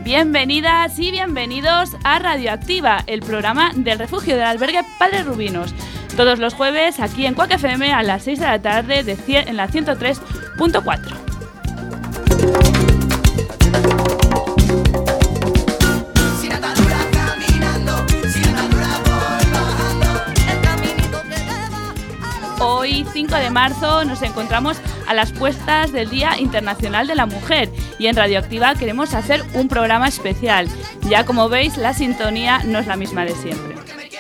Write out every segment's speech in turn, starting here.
Bienvenidas y bienvenidos a Radioactiva, el programa del refugio del albergue Padre Rubinos. Todos los jueves aquí en Cuac FM a las 6 de la tarde en la 103.4. Hoy, 5 de marzo, nos encontramos a las puertas del Día Internacional de la Mujer y en Radioactiva queremos hacer un programa especial. Ya como veis, la sintonía no es la misma de siempre.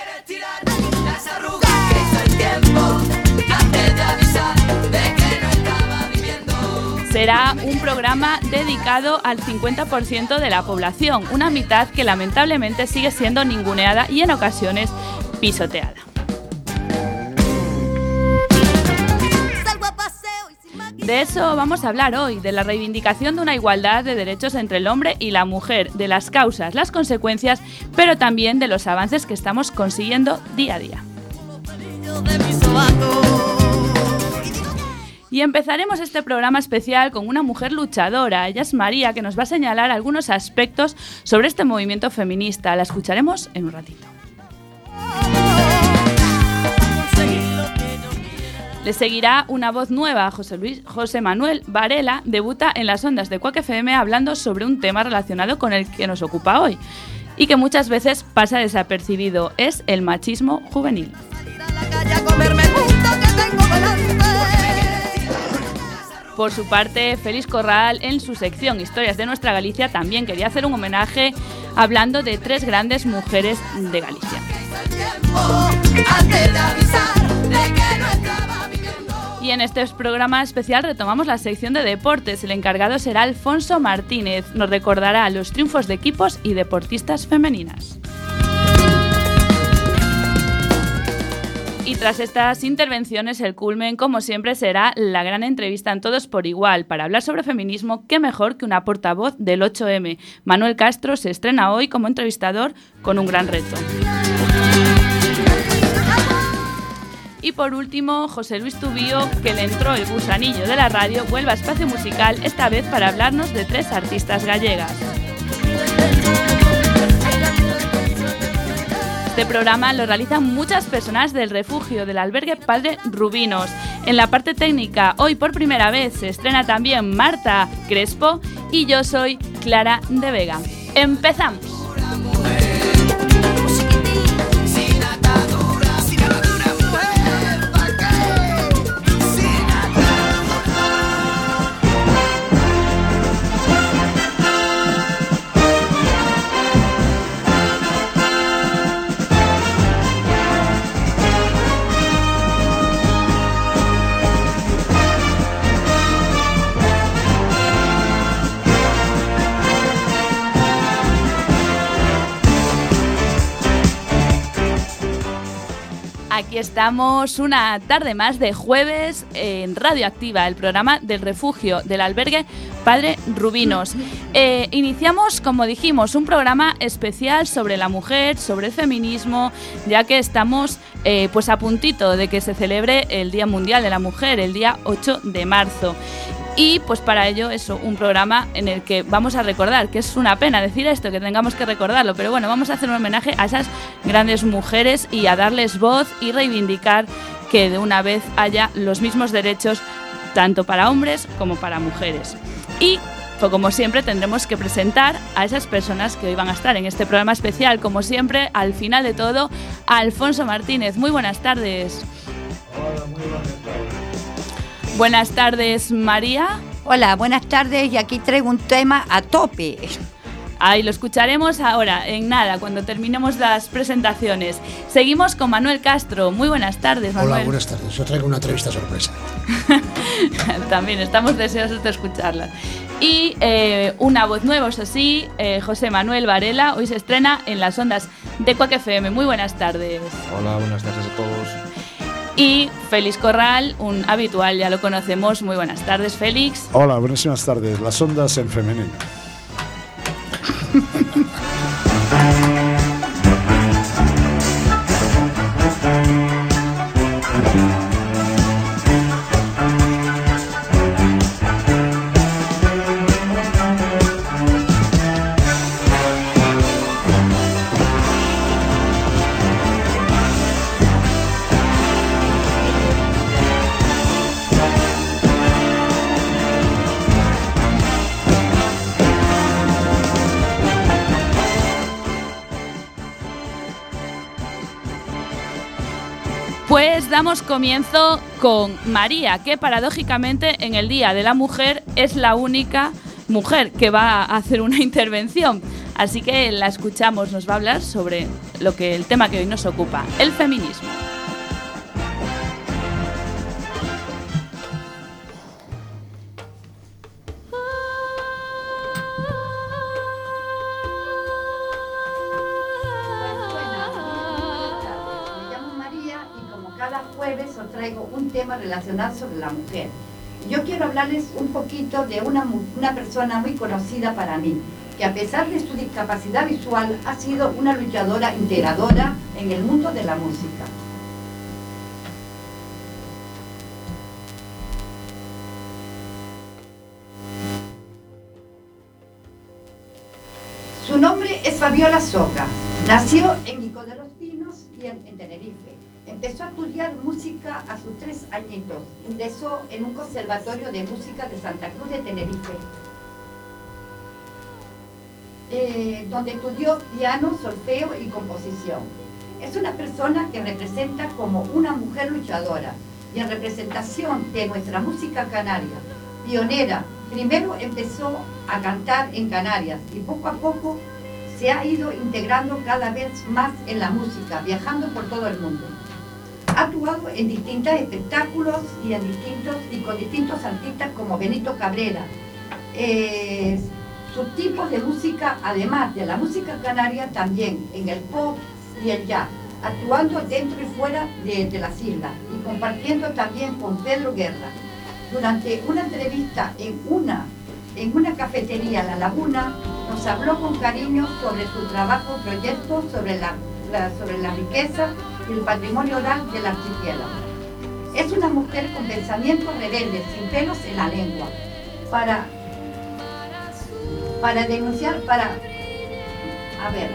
Será un programa dedicado al 50% de la población, una mitad que lamentablemente sigue siendo ninguneada y en ocasiones pisoteada. De eso vamos a hablar hoy, de la reivindicación de una igualdad de derechos entre el hombre y la mujer, de las causas, las consecuencias, pero también de los avances que estamos consiguiendo día a día. Y empezaremos este programa especial con una mujer luchadora. Ella es María, que nos va a señalar algunos aspectos sobre este movimiento feminista. La escucharemos en un ratito. Le seguirá una voz nueva. José Manuel Varela debuta en las ondas de Cuac FM hablando sobre un tema relacionado con el que nos ocupa hoy y que muchas veces pasa desapercibido. Es el machismo juvenil. Por su parte, Félix Corral, en su sección Historias de nuestra Galicia, también quería hacer un homenaje hablando de 3 grandes mujeres de Galicia. Y en este programa especial retomamos la sección de deportes. El encargado será Alfonso Martínez. Nos recordará los triunfos de equipos y deportistas femeninas. Y tras estas intervenciones, el culmen, como siempre, será la gran entrevista en Todos por Igual. Para hablar sobre feminismo, qué mejor que una portavoz del 8M. Manuel Castro se estrena hoy como entrevistador con un gran reto. Y por último, José Luis Tubío, que le entró el gusanillo de la radio, vuelve a Espacio Musical, esta vez para hablarnos de 3 artistas gallegas. Este programa lo realizan muchas personas del refugio del albergue Padre Rubinos. En la parte técnica, hoy por primera vez se estrena también Marta Crespo y yo soy Clara de Vega. ¡Empezamos! Aquí estamos una tarde más de jueves en Radioactiva, el programa del refugio del albergue Padre Rubinos. Iniciamos, como dijimos, un programa especial sobre la mujer, sobre el feminismo, ya que estamos pues a puntito de que se celebre el Día Mundial de la Mujer, el día 8 de marzo. Y pues para ello es un programa en el que vamos a recordar, que es una pena decir esto, que tengamos que recordarlo, pero bueno, vamos a hacer un homenaje a esas grandes mujeres y a darles voz y reivindicar que de una vez haya los mismos derechos tanto para hombres como para mujeres. Y pues como siempre tendremos que presentar a esas personas que hoy van a estar en este programa especial, como siempre, al final de todo, a Alfonso Martínez. Muy buenas tardes. Hola, muy buenas tardes. Buenas tardes, María. Hola, buenas tardes y aquí traigo un tema a tope. Ahí lo escucharemos ahora, en nada, cuando terminemos las presentaciones. Seguimos con Manuel Castro. Muy buenas tardes, Manuel. Hola, buenas tardes. Yo traigo una entrevista sorpresa. También estamos deseosos de escucharla. Y una voz nueva, eso sí, José Manuel Varela. Hoy se estrena en las ondas de Cuac FM. Muy buenas tardes. Hola, buenas tardes a todos. Y Félix Corral, un habitual, ya lo conocemos. Muy buenas tardes, Félix. Hola, buenas tardes. Las ondas en femenino. Pues damos comienzo con María, que paradójicamente en el Día de la Mujer es la única mujer que va a hacer una intervención. Así que la escuchamos, nos va a hablar sobre el tema que hoy nos ocupa, el feminismo. Os traigo un tema relacionado sobre la mujer. Yo quiero hablarles un poquito de una persona muy conocida para mí, que a pesar de su discapacidad visual ha sido una luchadora integradora en el mundo de la música. Su nombre es Fabiola Soca. Nació en Nico de los Pinos y en Tenerife. Empezó a estudiar música a sus 3 añitos. Ingresó en un conservatorio de música de Santa Cruz de Tenerife, donde estudió piano, solfeo y composición. Es una persona que representa como una mujer luchadora y en representación de nuestra música canaria, pionera. Primero empezó a cantar en Canarias y poco a poco se ha ido integrando cada vez más en la música, viajando por todo el mundo. Ha actuado en distintos espectáculos y con distintos artistas como Benito Cabrera. Sus tipos de música, además de la música canaria, también en el pop y el jazz, actuando dentro y fuera de las islas y compartiendo también con Pedro Guerra. Durante una entrevista en una cafetería en La Laguna, nos habló con cariño sobre su trabajo, proyectos sobre la riqueza y el patrimonio oral del archipiélago. Es una mujer con pensamientos rebeldes, sin pelos en la lengua, para denunciar, a ver.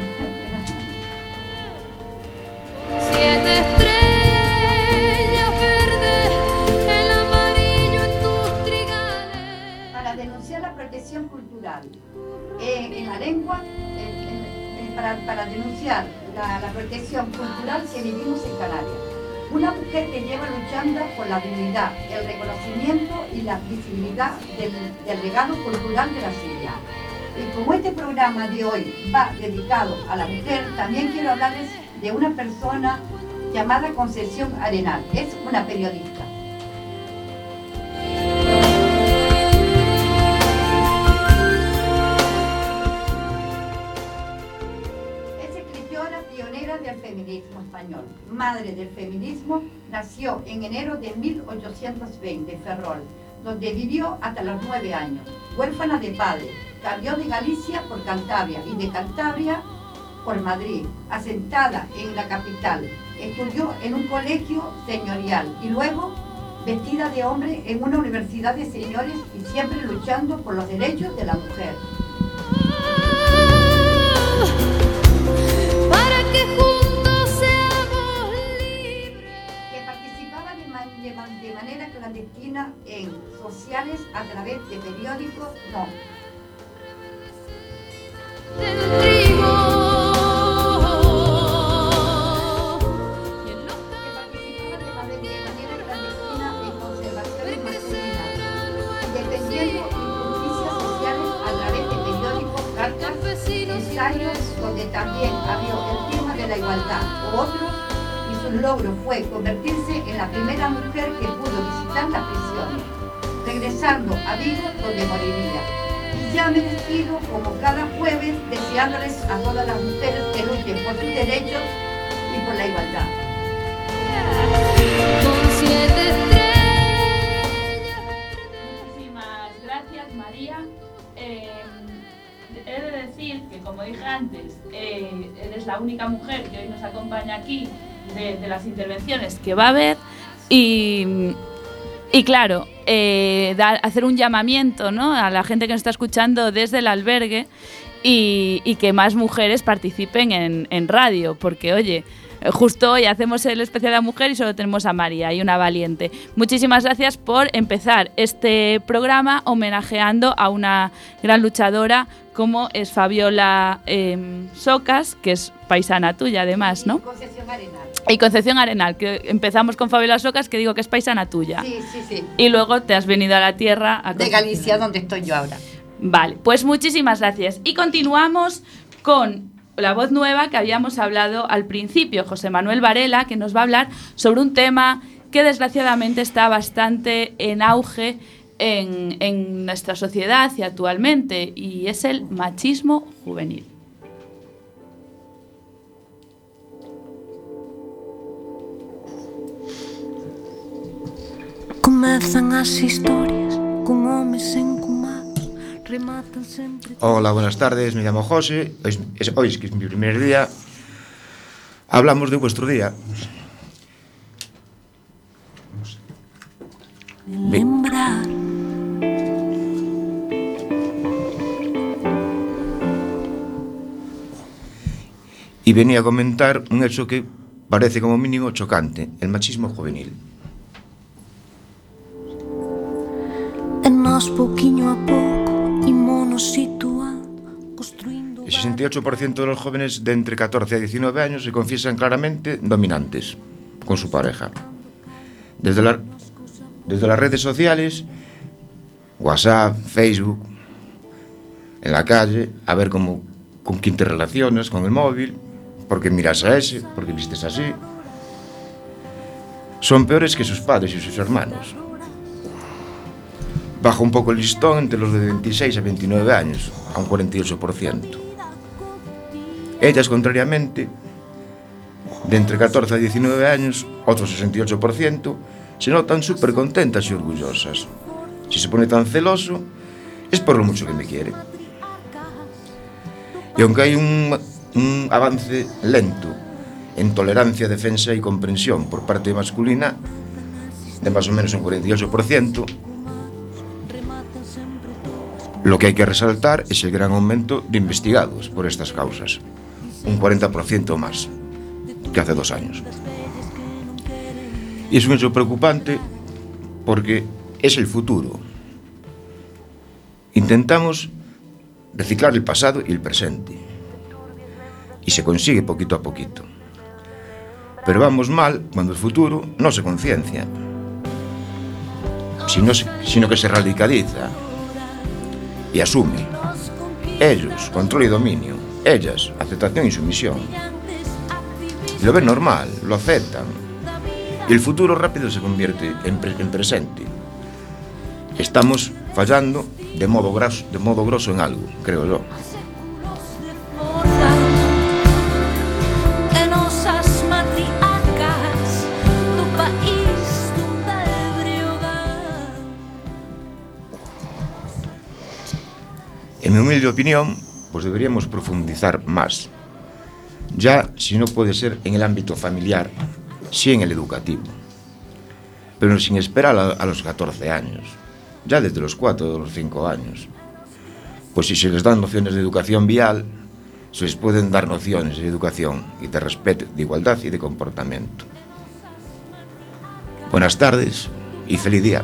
7 estrellas verdes, el amarillo en tus trigales. Para denunciar la protección cultural en la lengua, para denunciar la protección cultural que vivimos en Canarias. Una mujer que lleva luchando por la dignidad, el reconocimiento y la visibilidad del legado cultural de las islas. Y como este programa de hoy va dedicado a la mujer, también quiero hablarles de una persona llamada Concepción Arenal. Es una periodista. Del feminismo español, madre del feminismo, nació en enero de 1820 en Ferrol, donde vivió hasta los 9 años. Huérfana de padre, cambió de Galicia por Cantabria y de Cantabria por Madrid, asentada en la capital. Estudió en un colegio señorial y luego vestida de hombre en una universidad de señores y siempre luchando por los derechos de la mujer. De manera clandestina en sociales a través de periódicos, Del trigo. Que participaba de manera clandestina en conservaciones masculinas, defendiendo injusticias sociales a través de periódicos, cartas, ensayos, donde también abrió el tema de la igualdad, o otros. Su logro fue convertirse en la primera mujer que pudo visitar las prisiones, regresando a Vigo, donde moriría. Y ya me despido como cada jueves, deseándoles a todas las mujeres que luchen por sus derechos y por la igualdad. Con 7 estrellas. Muchísimas gracias, María. He de decir que, como dije antes, eres la única mujer que hoy nos acompaña aquí de las intervenciones que va a haber y claro, hacer un llamamiento, ¿no?, a la gente que nos está escuchando desde el albergue y que más mujeres participen en radio, porque oye, justo hoy hacemos el especial de la mujer y solo tenemos a María y una valiente. Muchísimas gracias por empezar este programa homenajeando a una gran luchadora como es Fabiola Socas, que es paisana tuya además, ¿no? Concepción Arenal. Y Concepción Arenal, que empezamos con Fabiola Socas, que digo que es paisana tuya. Sí. Y luego te has venido a la tierra. De Galicia, donde estoy yo ahora. Vale, pues muchísimas gracias. Y continuamos con la voz nueva que habíamos hablado al principio, José Manuel Varela, que nos va a hablar sobre un tema que desgraciadamente está bastante en auge en nuestra sociedad y actualmente, y es el machismo juvenil. Comezan as historias con homes encumados, rematan sempre. Hola, buenas tardes, me llamo José. Hoy es que es mi primer día. Hablamos de vuestro día. Lembrar. Y venía a comentar un hecho que parece como mínimo chocante, el machismo juvenil. E nós pouquiño a pouco ímonos situando, construindo. El 68% de los jóvenes de entre 14 a 19 años se confiesan claramente dominantes con su pareja. Desde las redes sociales, WhatsApp, Facebook, en la calle, a ver con quién te relacionas, con el móvil, porque miras a ese, porque vistes así. Son peores que sus padres y sus hermanos. Baja un poco el listón entre los de 26 a 29 años, a un 48%. Ellas, contrariamente, de entre 14 a 19 años, otro 68%, se notan súper contentas y orgullosas. Si se pone tan celoso, es por lo mucho que me quiere. Y aunque hay un avance lento en tolerancia, defensa y comprensión por parte masculina, de más o menos un 48%, lo que hay que resaltar es el gran aumento de investigados por estas causas, un 40% más que hace 2 años. Y es un hecho preocupante porque es el futuro. Intentamos reciclar el pasado y el presente, y se consigue poquito a poquito. Pero vamos mal cuando el futuro no se conciencia, sino que se radicaliza y asume. Ellos, control y dominio. Ellas, aceptación y sumisión. Lo ven normal, lo aceptan. Y el futuro rápido se convierte en presente. Estamos fallando de modo grosso en algo, creo yo. En mi humilde opinión, pues deberíamos profundizar más. Ya, si no puede ser en el ámbito familiar, sí en el educativo. Pero sin esperar a los 14 años, ya desde los 4 o los 5 años. Pues si se les dan nociones de educación vial, se les pueden dar nociones de educación y de respeto, de igualdad y de comportamiento. Buenas tardes y feliz día.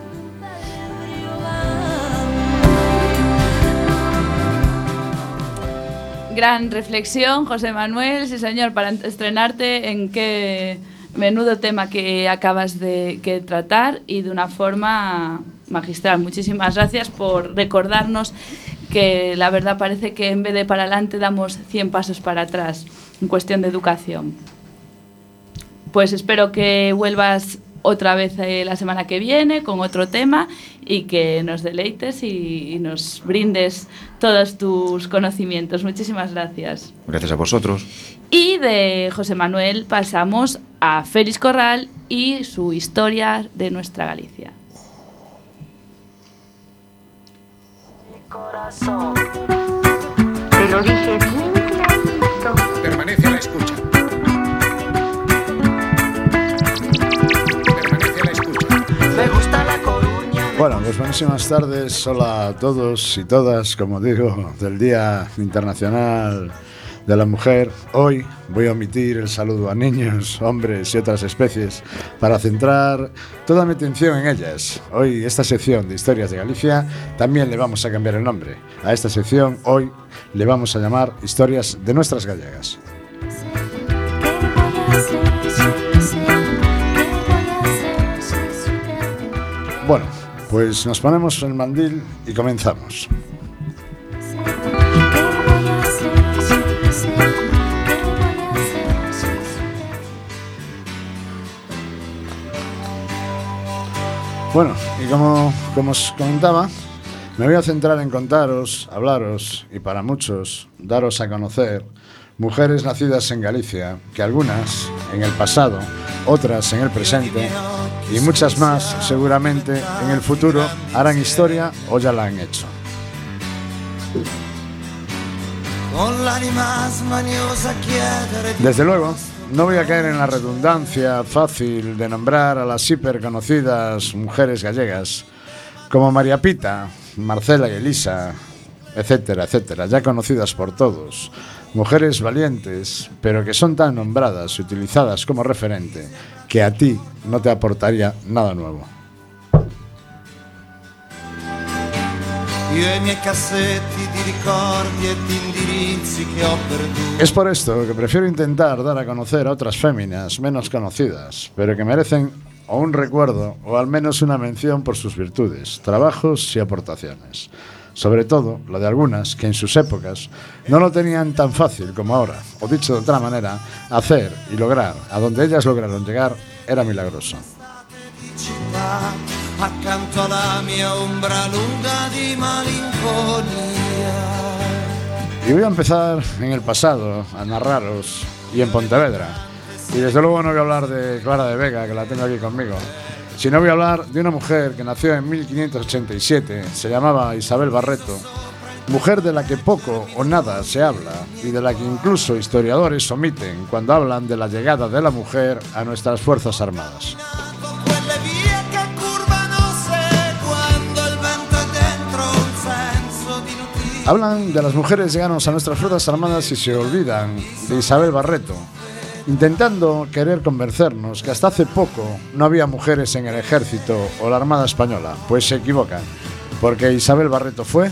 Gran reflexión, José Manuel, sí señor, para estrenarte en qué menudo tema que acabas de tratar y de una forma magistral. Muchísimas gracias por recordarnos que la verdad parece que en vez de para adelante damos 100 pasos para atrás en cuestión de educación. Pues espero que vuelvas otra vez la semana que viene con otro tema y que nos deleites y nos brindes todos tus conocimientos. Muchísimas gracias. Gracias a vosotros. Y de José Manuel pasamos a Félix Corral y su historia de nuestra Galicia. Corazón, te lo dije bien clarito. Permanece a la escucha. Me gusta La Coruña. Bueno, pues buenísimas tardes. Hola a todos y todas, como digo, del Día Internacional de la Mujer. Hoy voy a omitir el saludo a niños, hombres y otras especies para centrar toda mi atención en ellas. Hoy esta sección de Historias de Galicia también le vamos a cambiar el nombre. A esta sección hoy le vamos a llamar Historias de nuestras gallegas. ¿Qué voy a hacer? Bueno, pues nos ponemos el mandil y comenzamos. Bueno, y como os comentaba, me voy a centrar en contaros, hablaros y para muchos daros a conocer mujeres nacidas en Galicia, que algunas en el pasado, otras en el presente y muchas más seguramente en el futuro harán historia o ya la han hecho. Desde luego, no voy a caer en la redundancia fácil de nombrar a las hiperconocidas mujeres gallegas como María Pita, Marcela y Elisa, etcétera, etcétera, ya conocidas por todos. Mujeres valientes, pero que son tan nombradas y utilizadas como referente que a ti no te aportaría nada nuevo. Es por esto que prefiero intentar dar a conocer a otras féminas menos conocidas, pero que merecen o un recuerdo o al menos una mención por sus virtudes, trabajos y aportaciones. Sobre todo, lo de algunas que en sus épocas no lo tenían tan fácil como ahora, o dicho de otra manera, hacer y lograr a donde ellas lograron llegar era milagroso. Accanto alla mia ombra lunga di malinconia. Y voy a empezar en el pasado, a narraros, y en Pontevedra. Y desde luego no voy a hablar de Clara de Vega, que la tengo aquí conmigo, sino voy a hablar de una mujer que nació en 1587, se llamaba Isabel Barreto, mujer de la que poco o nada se habla y de la que incluso historiadores omiten cuando hablan de la llegada de la mujer a nuestras Fuerzas Armadas. Hablan de las mujeres llegadas a nuestras Fuerzas Armadas y se olvidan de Isabel Barreto, intentando querer convencernos que hasta hace poco no había mujeres en el ejército o la Armada Española. Pues se equivocan, porque Isabel Barreto fue...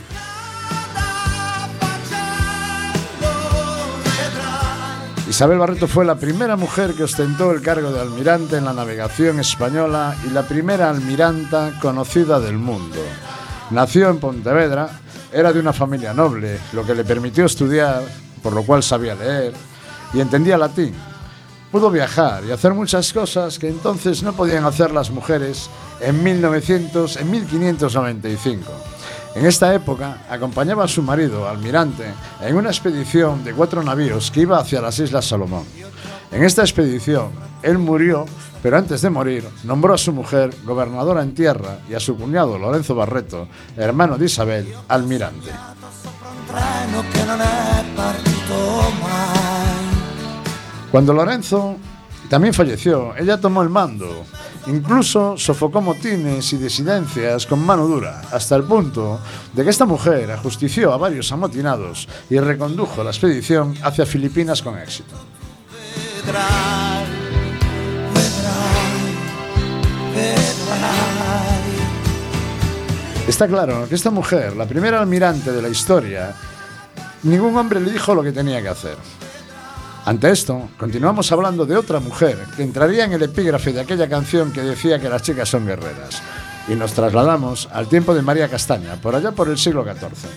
Isabel Barreto fue la primera mujer que ostentó el cargo de almirante en la navegación española y la primera almiranta conocida del mundo. Nació en Pontevedra. Era de una familia noble, lo que le permitió estudiar, por lo cual sabía leer y entendía latín. Pudo viajar y hacer muchas cosas que entonces no podían hacer las mujeres en 1595. En esta época acompañaba a su marido, almirante, en una expedición de 4 navíos que iba hacia las Islas Salomón. En esta expedición, él murió, pero antes de morir, nombró a su mujer gobernadora en tierra y a su cuñado Lorenzo Barreto, hermano de Isabel, almirante. Cuando Lorenzo también falleció, ella tomó el mando. Incluso sofocó motines y disidencias con mano dura, hasta el punto de que esta mujer ajustició a varios amotinados y recondujo la expedición hacia Filipinas con éxito. Está claro que esta mujer, la primera almirante de la historia, ningún hombre le dijo lo que tenía que hacer. Ante esto, continuamos hablando de otra mujer que entraría en el epígrafe de aquella canción que decía que las chicas son guerreras. Y nos trasladamos al tiempo de María Castaña, por allá por el siglo XIV.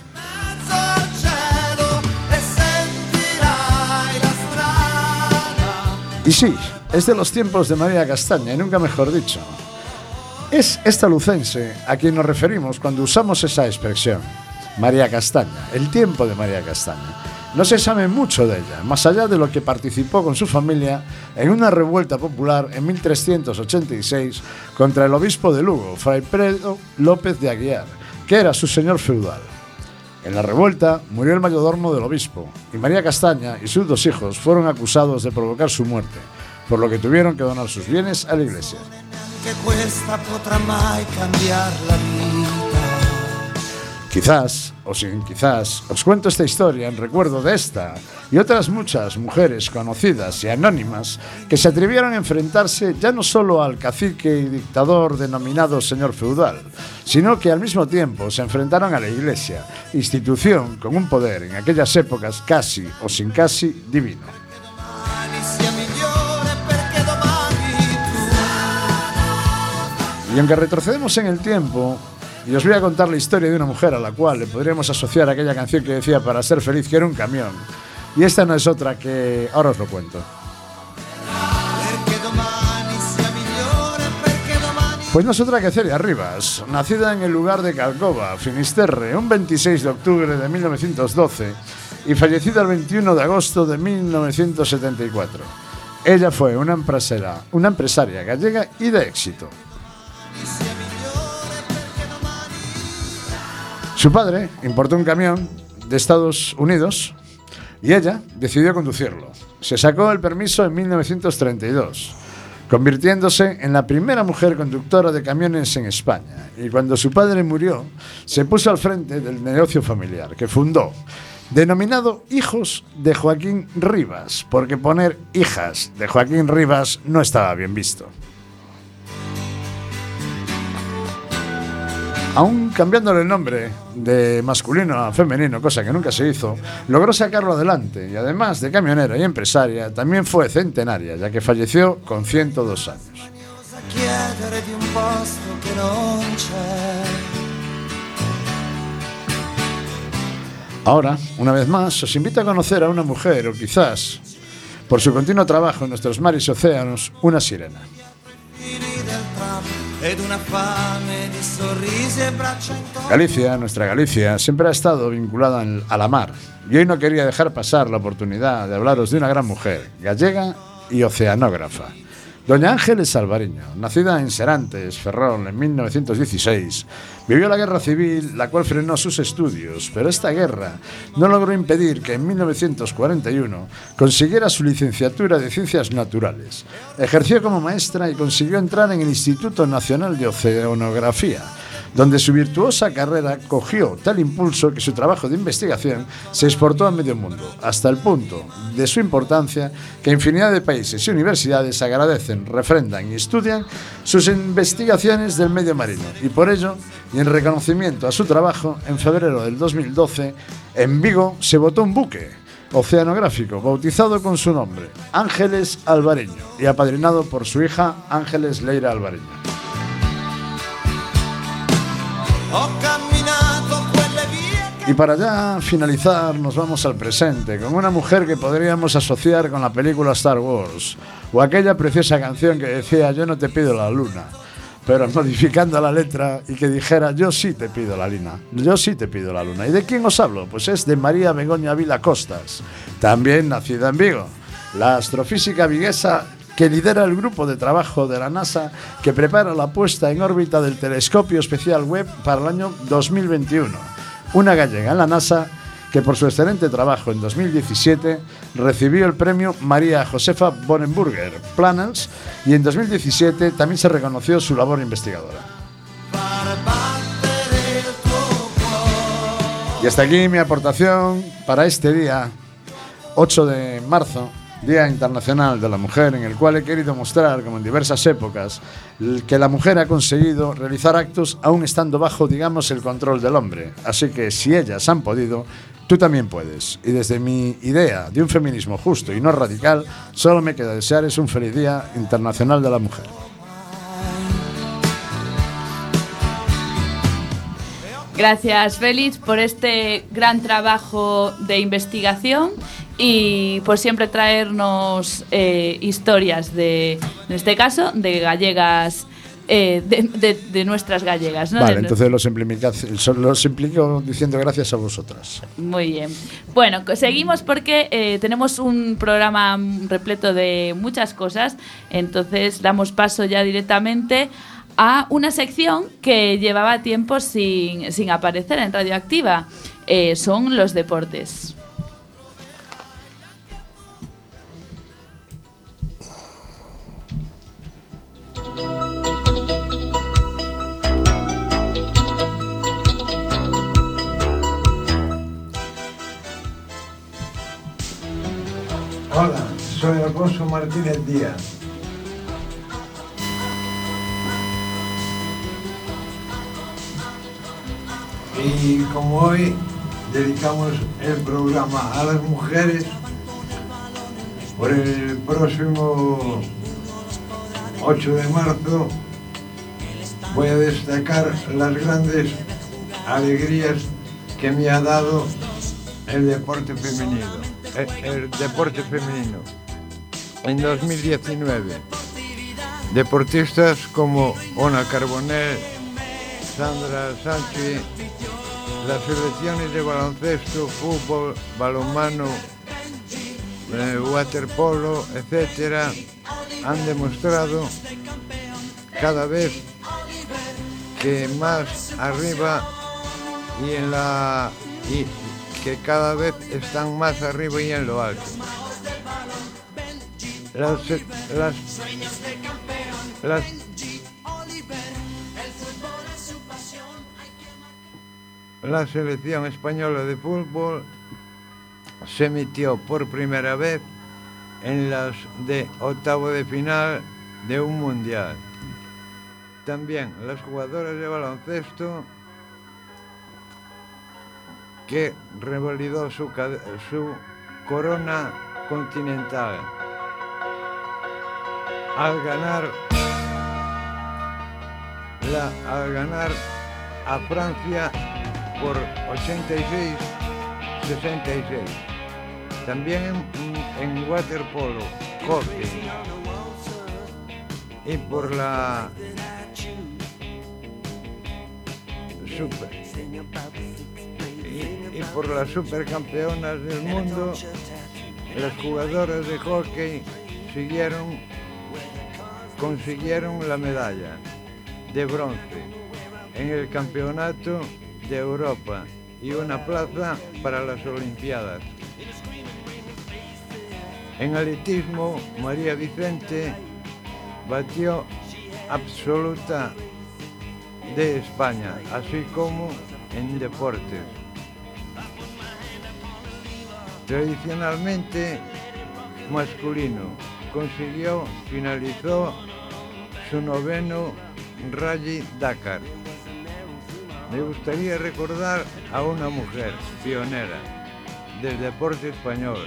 Y sí, es de los tiempos de María Castaña, y nunca mejor dicho. Es esta lucense a quien nos referimos cuando usamos esa expresión, María Castaña, el tiempo de María Castaña. No se sabe mucho de ella, más allá de lo que participó con su familia en una revuelta popular en 1386 contra el obispo de Lugo, Fray Pedro López de Aguiar, que era su señor feudal. En la revuelta murió el mayordomo del obispo y María Castaña y sus 2 hijos fueron acusados de provocar su muerte, por lo que tuvieron que donar sus bienes a la iglesia. Quizás, o sin quizás, os cuento esta historia en recuerdo de esta y otras muchas mujeres conocidas y anónimas que se atrevieron a enfrentarse ya no solo al cacique y dictador denominado señor feudal, sino que al mismo tiempo se enfrentaron a la Iglesia, institución con un poder en aquellas épocas casi o sin casi divino. Y aunque retrocedemos en el tiempo, y os voy a contar la historia de una mujer a la cual le podríamos asociar aquella canción que decía para ser feliz que era un camión. Y esta no es otra que... ahora os lo cuento. Pues no es otra que Celia Rivas, nacida en el lugar de Calcova, Finisterre, un 26 de octubre de 1912 y fallecida el 21 de agosto de 1974. Ella fue una empresaria gallega y de éxito. Su padre importó un camión de Estados Unidos y ella decidió conducirlo. Se sacó el permiso en 1932, convirtiéndose en la primera mujer conductora de camiones en España. Y cuando su padre murió, se puso al frente del negocio familiar que fundó, denominado Hijos de Joaquín Rivas, porque poner hijas de Joaquín Rivas no estaba bien visto. Aún cambiándole el nombre de masculino a femenino, cosa que nunca se hizo, logró sacarlo adelante y además de camionera y empresaria, también fue centenaria, ya que falleció con 102 años. Ahora, una vez más, os invito a conocer a una mujer, o quizás, por su continuo trabajo en nuestros mares y océanos, una sirena. Galicia, nuestra Galicia, siempre ha estado vinculada a la mar y hoy no quería dejar pasar la oportunidad de hablaros de una gran mujer, gallega y oceanógrafa. Doña Ángeles Alvariño, nacida en Serantes, Ferrol, en 1916, vivió la guerra civil, la cual frenó sus estudios, pero esta guerra no logró impedir que en 1941 consiguiera su licenciatura de Ciencias Naturales. Ejerció como maestra y consiguió entrar en el Instituto Nacional de Oceanografía, donde su virtuosa carrera cogió tal impulso que su trabajo de investigación se exportó a medio mundo, hasta el punto de su importancia que infinidad de países y universidades agradecen, refrendan y estudian sus investigaciones del medio marino. Y por ello, y en reconocimiento a su trabajo, en febrero del 2012, en Vigo se botó un buque oceanográfico bautizado con su nombre, Ángeles Alvariño, y apadrinado por su hija Ángeles Leira Alvariño. Y para ya finalizar, nos vamos al presente con una mujer que podríamos asociar con la película Star Wars o aquella preciosa canción que decía yo no te pido la luna, pero modificando la letra y que dijera yo sí te pido la luna, yo sí te pido la luna. ¿Y de quién os hablo? Pues es de María Begoña Vila Costas, también nacida en Vigo, la astrofísica viguesa que lidera el grupo de trabajo de la NASA que prepara la puesta en órbita del telescopio especial Webb para el año 2021. Una gallega en la NASA que por su excelente trabajo en 2017 recibió el premio María Josefa Bonenburger Planels y en 2017 también se reconoció su labor investigadora. Y hasta aquí mi aportación para este día 8 de marzo, Día Internacional de la Mujer, en el cual he querido mostrar, como en diversas épocas, que la mujer ha conseguido realizar actos aún estando bajo, digamos, el control del hombre. Así que si ellas han podido, tú también puedes. Y desde mi idea de un feminismo justo y no radical, solo me queda desearos un feliz Día Internacional de la Mujer. Gracias, Félix, por este gran trabajo de investigación y por siempre traernos historias en este caso, de gallegas, de nuestras gallegas, ¿no? Vale, entonces los implico diciendo gracias a vosotras. Muy bien. Bueno, seguimos porque tenemos un programa repleto de muchas cosas, entonces damos paso ya directamente a una sección que llevaba tiempo sin aparecer en Radioactiva. Son los deportes. Hola, soy Alfonso Martínez Díaz. Y como hoy dedicamos el programa a las mujeres, por el próximo 8 de marzo voy a destacar las grandes alegrías que me ha dado el deporte femenino. El deporte femenino. En 2019, deportistas como Ona Carbonell, Sandra Sánchez, las selecciones de baloncesto, fútbol, balonmano, waterpolo, etcétera, han demostrado cada vez que más arriba y que cada vez están más arriba y en lo alto. La selección española de fútbol se metió por primera vez en las de octavo de final de un mundial. También las jugadoras de baloncesto, que revalidó su corona continental al ganar a Francia por 86-66. También en waterpolo, hockey y por la supercampeonas del mundo, las jugadoras de hockey consiguieron la medalla de bronce en el Campeonato de Europa y una plaza para las Olimpiadas. En atletismo, María Vicente batió absoluta de España, así como en deportes. Tradicionalmente masculino, finalizó su noveno Rally Dakar. Me gustaría recordar a una mujer pionera del deporte español,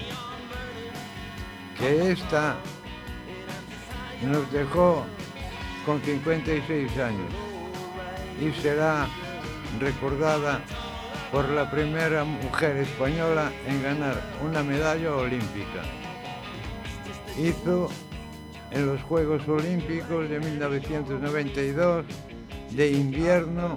que esta nos dejó con 56 años y será recordada por la primera mujer española en ganar una medalla olímpica. Hizo en los Juegos Olímpicos de 1992 de invierno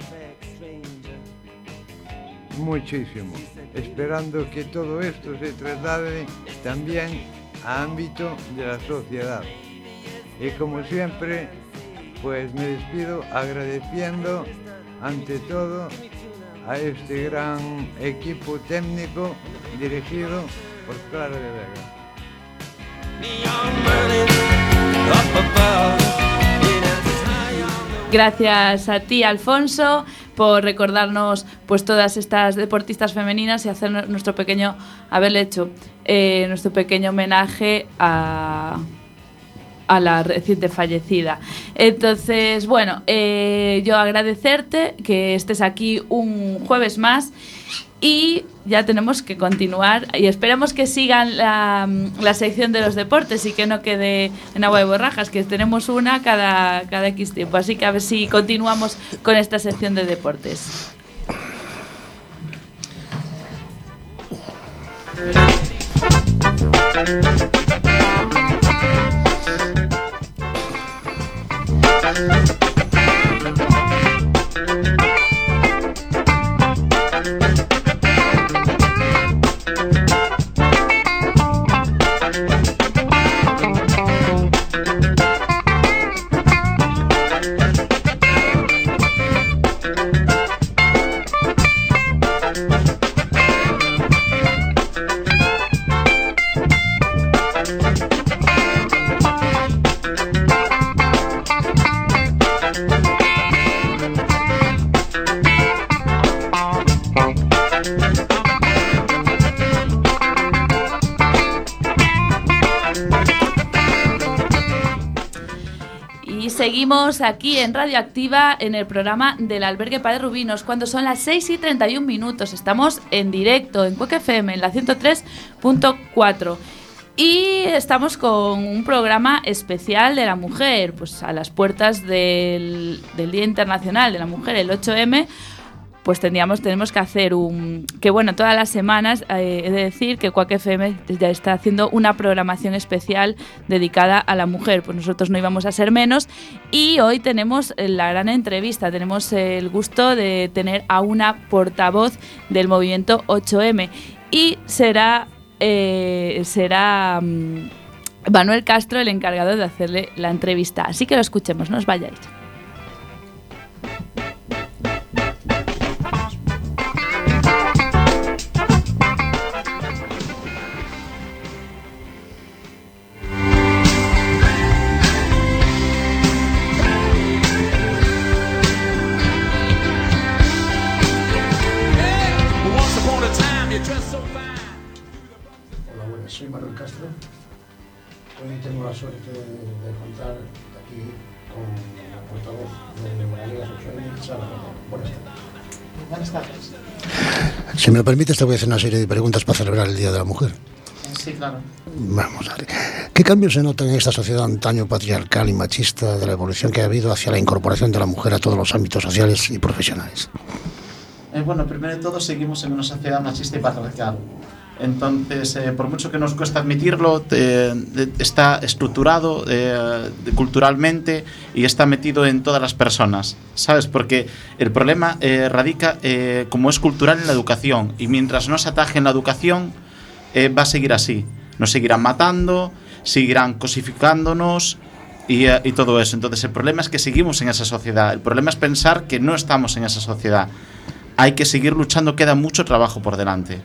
muchísimo, esperando que todo esto se traslade también a ámbito de la sociedad. Y como siempre, pues me despido agradeciendo ante todo a este gran equipo técnico dirigido por Clara de Vega. Gracias a ti, Alfonso, por recordarnos pues todas estas deportistas femeninas y hacer haberle hecho nuestro pequeño homenaje a la reciente fallecida. Entonces, bueno, yo agradecerte que estés aquí un jueves más y ya tenemos que continuar y esperemos que sigan la sección de los deportes y que no quede en agua de borrajas, que tenemos una cada X tiempo, así que a ver si continuamos con esta sección de deportes. Seguimos aquí en Radio Activa en el programa del Albergue Padre Rubinos cuando son las 6:31. Estamos en directo en Cuac FM en la 103.4 Y estamos con un programa especial de la mujer, pues a las puertas del Día Internacional de la Mujer, el 8M, pues tenemos que hacer que bueno, todas las semanas he de decir que Quack FM ya está haciendo una programación especial dedicada a la mujer, pues nosotros no íbamos a ser menos, y hoy tenemos la gran entrevista, tenemos el gusto de tener a una portavoz del movimiento 8M, y será Manuel Castro el encargado de hacerle la entrevista. Así que lo escuchemos, no os vayáis. Soy Manuel Castro. Hoy tengo la suerte de contar aquí con la portavoz de Moralegas 8M, Sara Cordero. Buenas tardes. Buenas tardes. Si me lo permites, te voy a hacer una serie de preguntas para celebrar el Día de la Mujer. Sí, claro. Vamos a ver. ¿Qué cambios se notan en esta sociedad antaño patriarcal y machista de la evolución que ha habido hacia la incorporación de la mujer a todos los ámbitos sociales y profesionales? Bueno, primero de todo, seguimos en una sociedad machista y patriarcal. Entonces, por mucho que nos cuesta admitirlo, está estructurado culturalmente y está metido en todas las personas, ¿sabes? Porque el problema radica, como es cultural, en la educación, y mientras no se ataje en la educación, va a seguir así. Nos seguirán matando, seguirán cosificándonos y todo eso. Entonces, el problema es que seguimos en esa sociedad. El problema es pensar que no estamos en esa sociedad. Hay que seguir luchando, queda mucho trabajo por delante.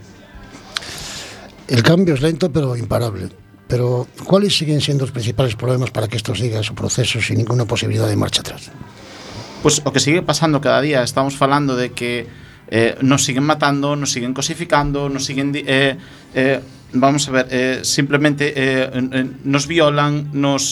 El cambio es lento pero imparable. Pero, ¿cuáles siguen siendo los principales problemas para que esto siga su proceso sin ninguna posibilidad de marcha atrás? Pues o que sigue pasando cada día. Estamos falando de que nos siguen matando, nos siguen cosificando, nos siguen... vamos a ver, simplemente nos violan,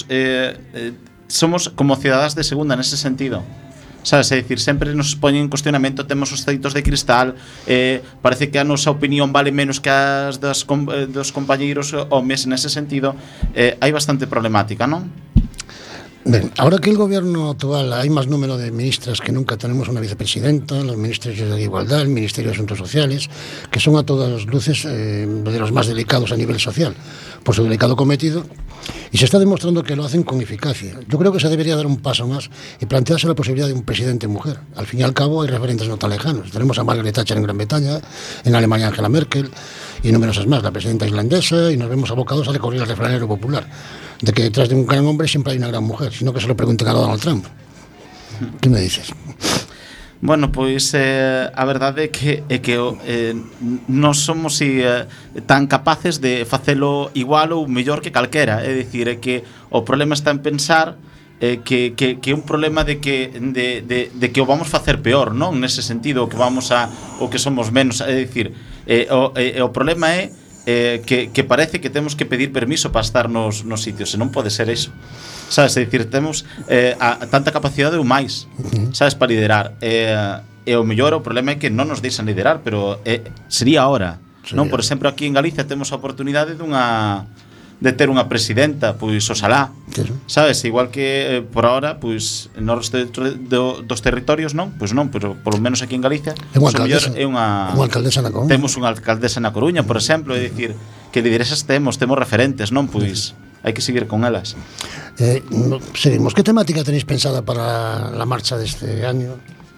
somos como ciudadanos de segunda en ese sentido. Sabes, é dicir, sempre nos poñen en cuestionamento, temos os teitos de cristal, parece que a nosa opinión vale menos que as dos compañeiros homes. Nese sentido, hai bastante problemática, non? Bien, ahora que el gobierno actual hay más número de ministras que nunca, tenemos una vicepresidenta, los ministerios de Igualdad, el Ministerio de Asuntos Sociales, que son a todas luces de los más delicados a nivel social, por su delicado cometido, y se está demostrando que lo hacen con eficacia. Yo creo que se debería dar un paso más y plantearse la posibilidad de un presidente mujer. Al fin y al cabo hay referentes no tan lejanos. Tenemos a Margaret Thatcher en Gran Bretaña, en Alemania Angela Merkel y numerosas más, la presidenta islandesa, y nos vemos abocados a recurrir al refranero popular de que detrás de un gran hombre siempre hay una gran mujer, sino que se lo pregunten a Donald Trump. ¿Qué me dices? Bueno, pois a verdade é que non somos tan capaces de facelo igual ou mellor que calquera. É dicir, é que o problema está en pensar que é un problema de que o vamos facer peor, non? Nese sentido, o que somos menos. É dicir, o problema é que parece que temos que pedir permiso para estar nos sitios, e non pode ser iso. Sabes, é dicir, temos tanta capacidade ou máis, sabes, para liderar. E o mellor, o problema é que non nos deixan liderar, pero sería ahora, non? Por exemplo, aquí en Galicia temos a oportunidade de ter unha presidenta, pois oxalá, sabes, igual que por ahora, pois no resto dos territorios non, pois non, pero polo menos aquí en Galicia é unha alcaldesa na Coruña. Temos unha alcaldesa na Coruña, por exemplo, é dicir, que lideresas temos referentes, non, pois hai que seguir con elas. Seguimos. Que temática tenéis pensada para la marcha deste año?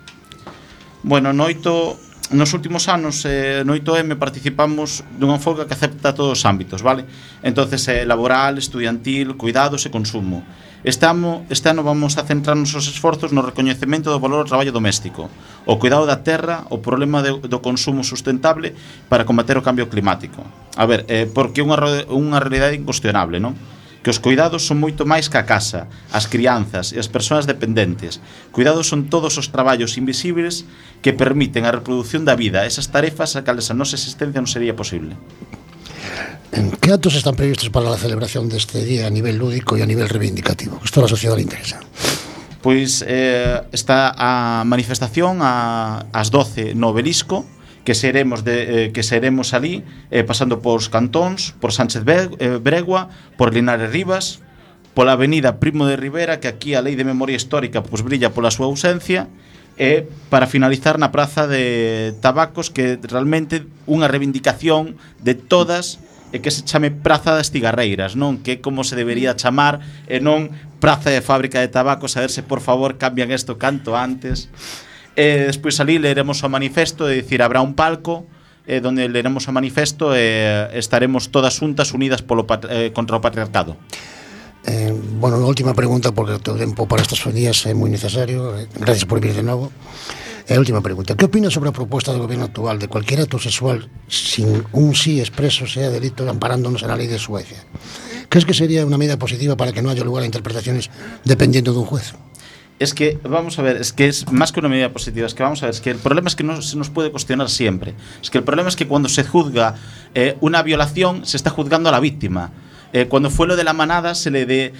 Bueno, nos últimos anos no 8M participamos dunha folga que acepta todos os ámbitos, vale? Entonces, laboral, estudiantil, cuidados e consumo. Este ano vamos a centrarnos os esforzos no recoñecemento do valor do traballo doméstico, o cuidado da terra, o problema do consumo sustentable para combater o cambio climático. A ver, porque é unha realidade incuestionable, non? Que os cuidados son moito máis que a casa, as crianzas e as persoas dependentes. Cuidados son todos os traballos invisibles que permiten a reproducción da vida, esas tarefas a cales a nosa existencia non sería posible. ¿Qué actos están previstos para la celebración deste día a nivel lúdico e a nivel reivindicativo? Isto a la sociedade le interesa. Pois está a manifestación ás 12 no Obelisco, que seremos ali, pasando por cantóns, por Sánchez Bregua, por Linares Rivas, pola avenida Primo de Rivera, que aquí a lei de memoria histórica pois brilla pola súa ausencia, e para finalizar na Praza de Tabacos, que realmente unha reivindicación de todas, e que se chame Praza das Cigarreiras, non? Que é como se debería chamar, e non Praza de Fábrica de Tabacos. A ver se por favor cambian isto canto antes. Despois ali leremos o manifesto, é dicir, habrá un palco donde leremos o manifesto e estaremos todas xuntas unidas contra o patriarcado. Bueno, unha última pregunta, porque o tempo para estes días é moi necesario. Gracias por vir de novo. Última pregunta: ¿qué opinas sobre a proposta do goberno actual de cualquier acto sexual sin un sí expreso sea delito, amparándonos en la ley de Suecia? ¿Crees que sería una medida positiva para que no haya lugar a interpretaciones dependiendo de un juez? Es que, vamos a ver, es que es más que una medida positiva, es que vamos a ver, es que el problema es que no se nos puede cuestionar siempre. Es que el problema es que cuando se juzga una violación, se está juzgando a la víctima. Cuando fue lo de la manada, se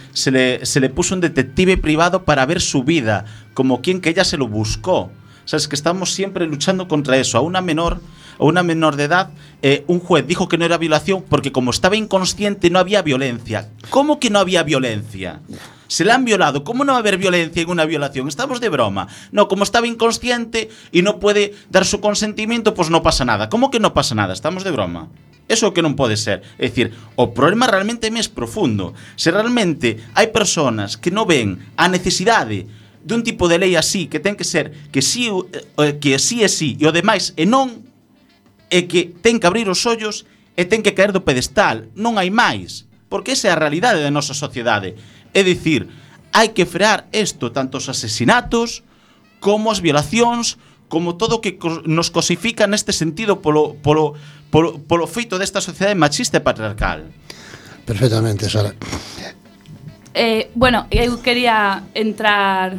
le puso un detective privado para ver su vida, como quien que ella se lo buscó. O sea, es que estamos siempre luchando contra eso. A una menor de edad, un juez dijo que no era violación porque como estaba inconsciente no había violencia. ¿Cómo que no había violencia? Se la han violado. ¿Cómo no va a haber violencia en una violación? Estamos de broma. No, como estaba inconsciente y no puede dar su consentimiento, pues no pasa nada. ¿Cómo que no pasa nada? Estamos de broma. Eso que non pode ser. É dicir, o problema realmente é máis profundo. Se realmente hai persoas que non ven a necesidade dun tipo de lei así, que ten que ser que sí é sí e o demais é non, é que ten que abrir os ollos e ten que caer do pedestal. Non hai máis. Porque esa é a realidade da nosa sociedade. É dicir, hai que frear isto, tanto os asesinatos como as violacións, como todo o que nos cosifica neste sentido polo feito desta sociedade machista e patriarcal. Perfectamente, Sara. Bueno, eu quería entrar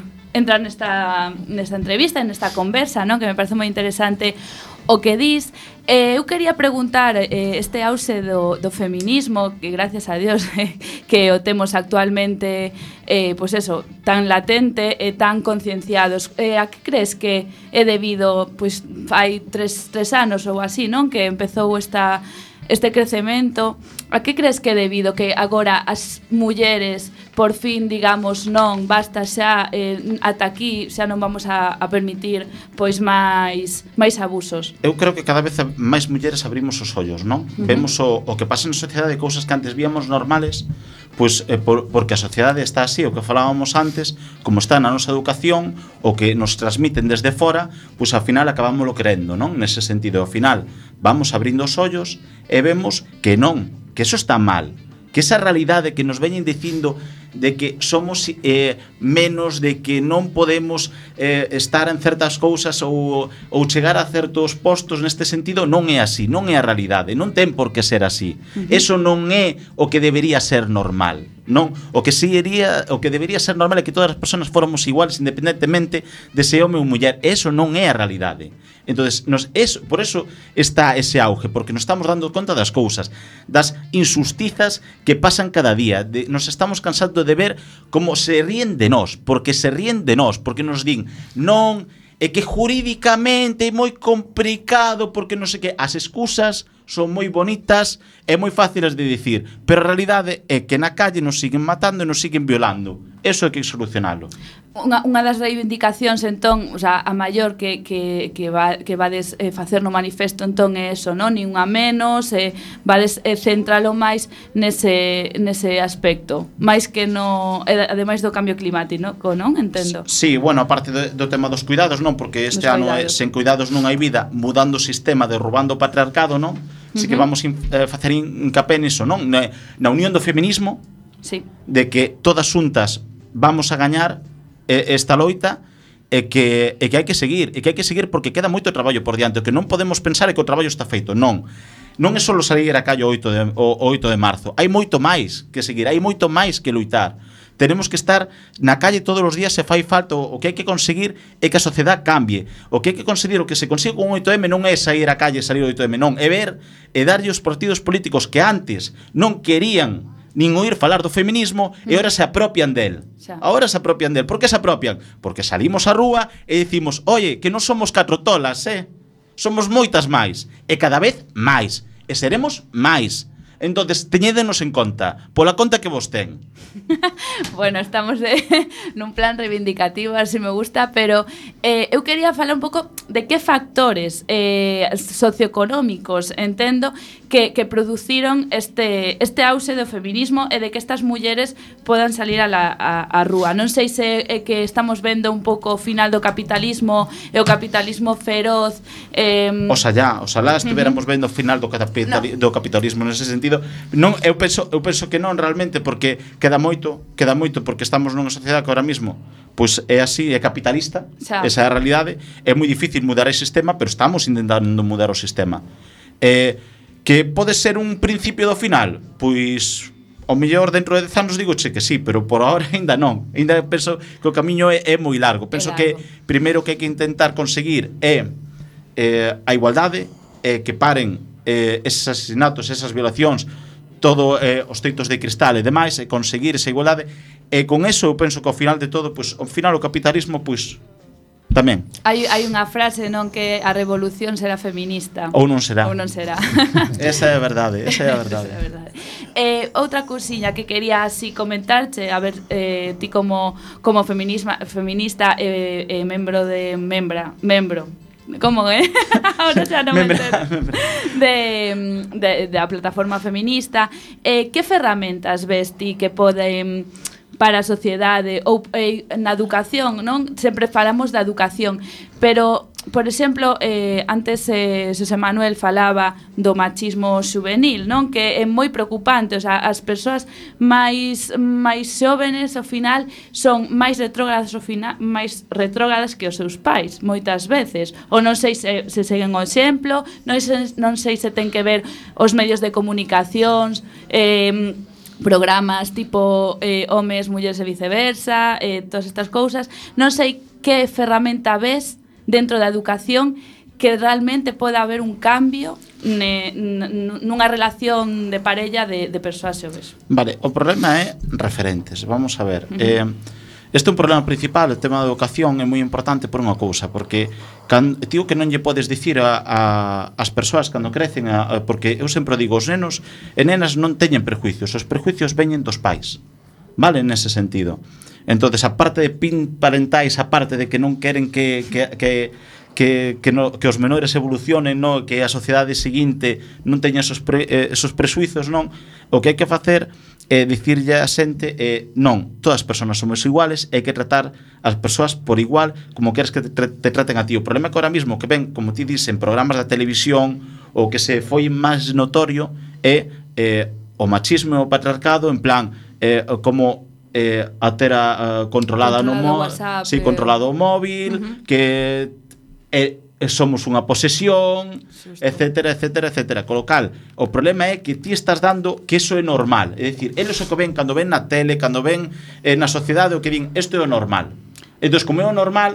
nesta entrevista, nesta conversa, ¿no? Que me parece moi interesante o que dis. Eu quería preguntar este auxe do feminismo, que gracias a Dios que o temos actualmente pois eso, tan latente e tan concienciados. A que crees que é debido, pois hai tres anos ou así, non? Que empezou este crecemento. A que crees que é debido que agora as mulleres por fin digamos non, basta xa, ata aquí xa non vamos a permitir pois máis abusos? Eu creo que cada vez máis mulleres abrimos os ollos, non? Vemos o que pasa na sociedade, cousas que antes víamos normales, pois porque a sociedade está así, o que falábamos antes, como está na nosa educación, o que nos transmiten desde fora, pois ao final acabámoslo querendo, non? Nese sentido, ao final vamos abrindo os ollos e vemos que non, que eso está mal, que esa realidade que nos veñen dicindo de que somos menos, de que non podemos estar en certas cousas ou chegar a certos postos neste sentido, non é así, non é a realidade, non ten por que ser así. Eso non é o que debería ser normal, non? O que debería ser normal é que todas as persoas fóramos iguales independentemente de se home ou muller. Eso non é a realidade. Entonces, por eso está ese auge, porque nos estamos dando conta das cousas, das injustizas que pasan cada día, nos estamos cansando de ver como se ríen de nós, porque nos din non, é que jurídicamente é moi complicado, porque non sei que, as excusas son moi bonitas e moi fáciles de dicir, pero a realidade é que na calle nos siguen matando e nos siguen violando. Eso hai que solucionalo. Unha das reivindicacións, entón, o sea, a maior que vades facer no manifesto, entón, é eso, non? Nin unha menos, vades centralo máis nese aspecto, máis que no, ademais do cambio climático, non? Entendo. Sí, bueno, aparte do tema dos cuidados, non? Porque este ano sen cuidados non hai vida, mudando o sistema, derrubando o patriarcado, non? Así que vamos facer hincapé niso, non? Na unión do feminismo, sí, de que todas xuntas vamos a gañar esta loita, e que hai que seguir, porque queda moito traballo por diante. O que non podemos pensar é que o traballo está feito. Non é só salir a calle o 8 de marzo. Hai moito máis que seguir, hai moito máis que luitar. Tenemos que estar na calle todos os días se fai falta. O que hai que conseguir é que a sociedade cambie. O que hai que conseguir, o que se consigue con 8M non é sair a calle e salir o 8M, non, é ver e darlle os partidos políticos que antes non querían nin oír falar do feminismo e ahora se apropian del. Ahora se apropian del. Por que se apropian? Porque salimos á rúa e dicimos, oye, que non somos catro tolas, somos moitas máis, e cada vez máis, e seremos máis. Entonces, teñédenos en conta, pola conta que vos ten. Bueno, estamos nun plan reivindicativo, así me gusta, pero eu quería falar un pouco de que factores socioeconómicos entendo que produciron este auxe do feminismo e de que estas mulleres podan salir a rúa. Non sei se é que estamos vendo un pouco o final do capitalismo e o capitalismo feroz. Oxalá estuviéramos vendo o final do capitalismo nese sentido. Non, eu penso que non realmente, porque queda moito porque estamos nunha sociedade que ahora mismo pois é así, é capitalista, esa é a realidade. É moi difícil mudar ese sistema, pero estamos intentando mudar o sistema. Que pode ser un principio do final? Pois ao mellor dentro de 10 anos digoche que sí, pero por ahora ainda non. Ainda penso que o camiño é moi largo. Penso que primeiro que hai que intentar conseguir é a igualdade, que paren eses asesinatos, esas violacións, todo os teitos de cristal e demais, e conseguir esa igualdade. E con eso eu penso que ao final de todo, pois ao final o capitalismo pois tamén. Hai unha frase, non, que a revolución será feminista. Ou non será. Esa é a verdade, esa é a verdade. Outra cousiña que quería así comentarche, a ver, ti como feminista e membro de membro. ¿Cómo, ahora xa non me entero. Da plataforma feminista. Que ferramentas ves ti que poden para a sociedade ou na educación, non? Sempre falamos da educación, pero, por exemplo, antes Xosé Manuel falaba do machismo xuvenil, non? Que é moi preocupante, o sea, as persoas máis xóvenes ao final son máis retrógradas que os seus pais, moitas veces. Ou non sei se seguen o exemplo, non sei se ten que ver os medios de comunicacións, programas tipo homes, mulleres e viceversa, todas estas cousas. Non sei que ferramenta ves dentro da educación que realmente poda haber un cambio nunha relación de parella de persoas xoves. Vale, o problema é referentes. Vamos a ver. Este é un problema principal. O tema da educación é moi importante por unha cousa, porque tío que non lle podes dicir as persoas cando crecen, porque eu sempre digo, os nenos e nenas non teñen prejuicios, os prejuicios veñen dos pais, vale, nese sentido. Entonces, a parte de parentais, a parte de que non queren que os menores evolucionen, no, que a sociedade seguinte non teña esos presuizos, non, o que hai que facer é dicirlle a xente non, todas as persoas somos iguales, hai que tratar as persoas por igual como queres que te traten a ti. O problema é que ahora mismo que ven, como ti dicen, programas da televisión, o que se foi máis notorio é o machismo e o patriarcado, en plan como a ter controlada no WhatsApp, controlado o móvil, que somos unha posesión, etcétera. Con lo cal, o problema é que ti estás dando que eso é normal. É dicir, eles o que ven cando ven na tele, cando ven na sociedade, o que din, isto é o normal. Entón, como é o normal,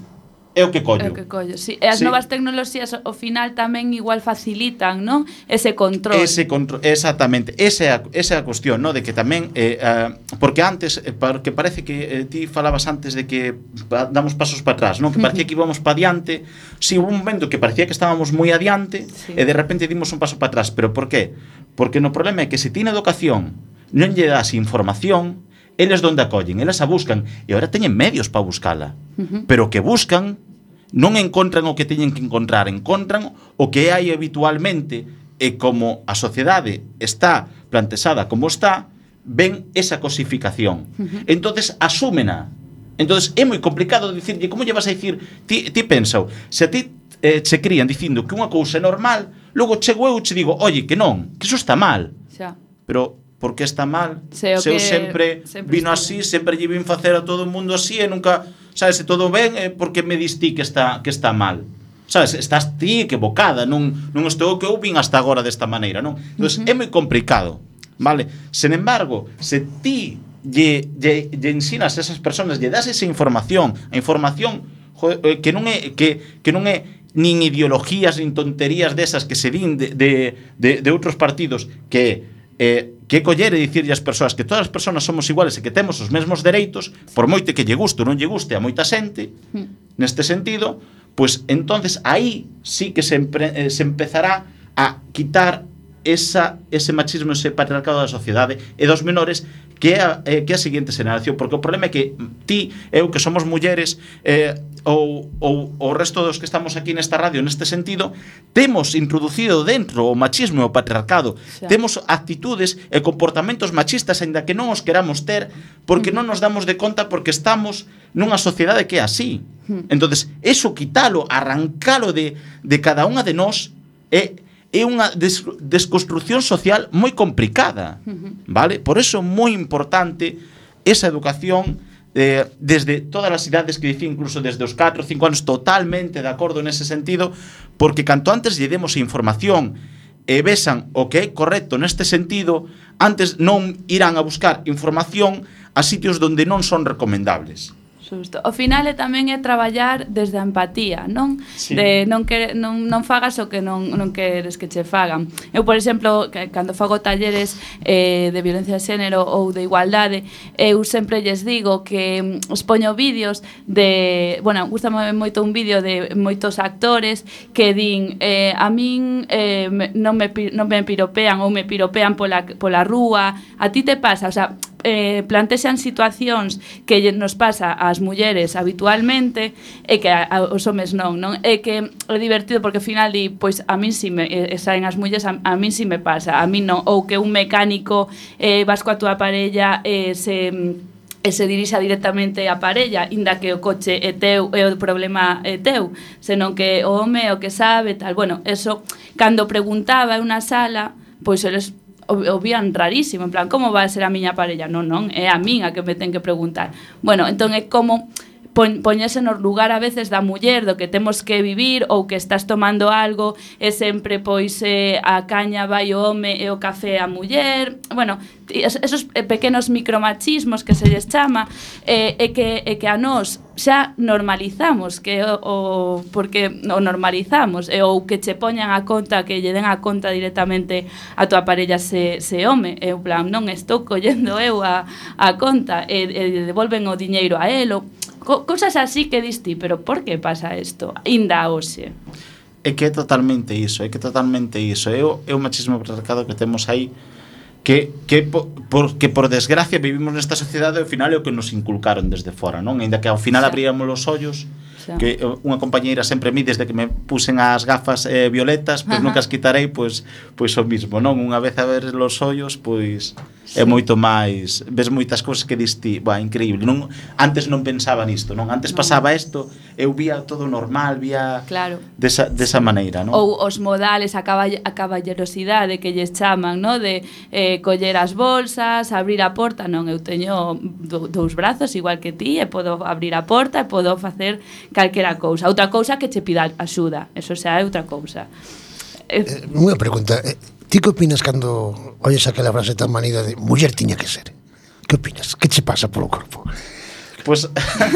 é o que collo. Sí. E as novas tecnoloxías ao final tamén igual facilitan, non? Ese control. Exactamente. Esa é a cuestión, non? De que tamén porque antes, porque parece que ti falabas antes de que damos pasos para atrás, non? Que parecía que íbamos para adiante. Si, hubo un momento que parecía que estábamos moi adiante, e de repente dimos un paso para atrás. Pero por qué? Porque no problema é que se ti na educación non lle das información, eles donde acollen, eles a buscan, e agora teñen medios para buscala. Pero o que buscan non encontran o que teñen que encontrar, encontran o que hai habitualmente, e como a sociedade está plantexada como está, ven esa cosificación. Entonces asúmena. Entonces é moi complicado dicirlle, como lle vas a dicir, ti pensa, se a ti che crían dicindo que unha cousa é normal, logo chego eu e che digo, oye, que non, que iso está mal. Pero por que está mal? Se eu sempre vino así, sempre lle vin facer a todo o mundo así, e nunca, sabes, se todo ben, porque me distí que está mal. Sabes, estás ti equivocada, non estou que eu vin hasta agora desta maneira, non? Entón, é moi complicado, vale? Sen embargo, se ti lle ensinas a esas persoas, lle das esa información, a información que non é nin ideologías, nin tonterías desas que se din de outros partidos, que coller e dicirlle ás persoas que todas as persoas somos iguales e que temos os mesmos dereitos, por moito que lle guste ou non lle guste a moita xente, neste sentido, pues entonces aí sí que se empezará a quitar ese machismo, ese patriarcado da sociedade e dos menores, que é a seguinte xeración, porque o problema é que ti, eu, que somos mulleres, ou o resto dos que estamos aquí nesta radio, neste sentido, temos introducido dentro o machismo e o patriarcado, temos actitudes e comportamentos machistas, aínda que non os queramos ter, porque non nos damos de conta, porque estamos nunha sociedade que é así. Entonces, eso quitalo, arrancalo de cada unha de nós, é unha desconstrucción social moi complicada, vale? Por eso é moi importante esa educación desde todas as idades, que dicía incluso desde os 4 ou 5 anos, totalmente de acordo nese sentido, porque canto antes lle demos información e vexan o que é correcto neste sentido, antes non irán a buscar información a sitios onde non son recomendables. Xusto. O final tamén é traballar desde a empatía, non? Sí. De non fagas o que non queres que che fagan. Eu, por exemplo, cando fago talleres de violencia de xénero ou de igualdade, eu sempre lles digo que expoño vídeos de... Bueno, gustame moito un vídeo de moitos actores que din a min non me piropean ou me piropean pola rúa, a ti te pasa, o sea, plantexan situacións que nos pasa ás mulleres habitualmente e que aos homes non? É que é divertido porque ao final di, pois a min si me saen as mulleres, a min si me pasa, a min non, ou que un mecánico vas coa túa parella se dirixa directamente a parella, inda que o coche é teu e o problema é teu, senón que o home é o que sabe, tal. Bueno, eso, cando preguntaba en unha sala, pois eles o vían rarísimo, en plan, como vai a ser a miña parella? Non, é a min a que me ten que preguntar. Bueno, entón é como poñerse no lugar a veces da muller, do que temos que vivir, ou que estás tomando algo e sempre pois a caña vai o home e o café a muller. Bueno, esos pequenos micromachismos que se lles chama, e que a nós xa normalizamos, porque o normalizamos, ou que che poñan a conta, que lle den a conta directamente a tua parella se home, e en plan, non estou collendo eu a conta, e devolven o diñeiro a elo. Cosas así que dis ti, pero por que pasa isto? Inda hoxe. É que é totalmente iso, É o machismo patriarcado que temos aí, que por desgracia vivimos nesta sociedade, ao final é o que nos inculcaron desde fora, non? Ainda que ao final abríamos os ollos, que unha compañeira sempre mi, desde que me pusen as gafas violetas, pois nunca as quitarei, pois o mismo, non? Unha vez a ver os ollos, pois é moito máis, ves moitas cousas que diste, increíble, non? Antes non pensaba nisto, non? Antes pasaba isto, eu vía todo normal, vía desa maneira, non? Ou os modales, a caballerosidade que lles chaman, non? De coller as bolsas, abrir a porta, non, eu teño dous brazos igual que ti, e podo abrir a porta e podo facer calquera cousa. Outra cousa que che pida axuda, eso xa é outra cousa. Unha pregunta, ti que opinas cando oyes aquela frase tan manida de muller tiña que ser? Que opinas? Que che pasa polo corpo? Pois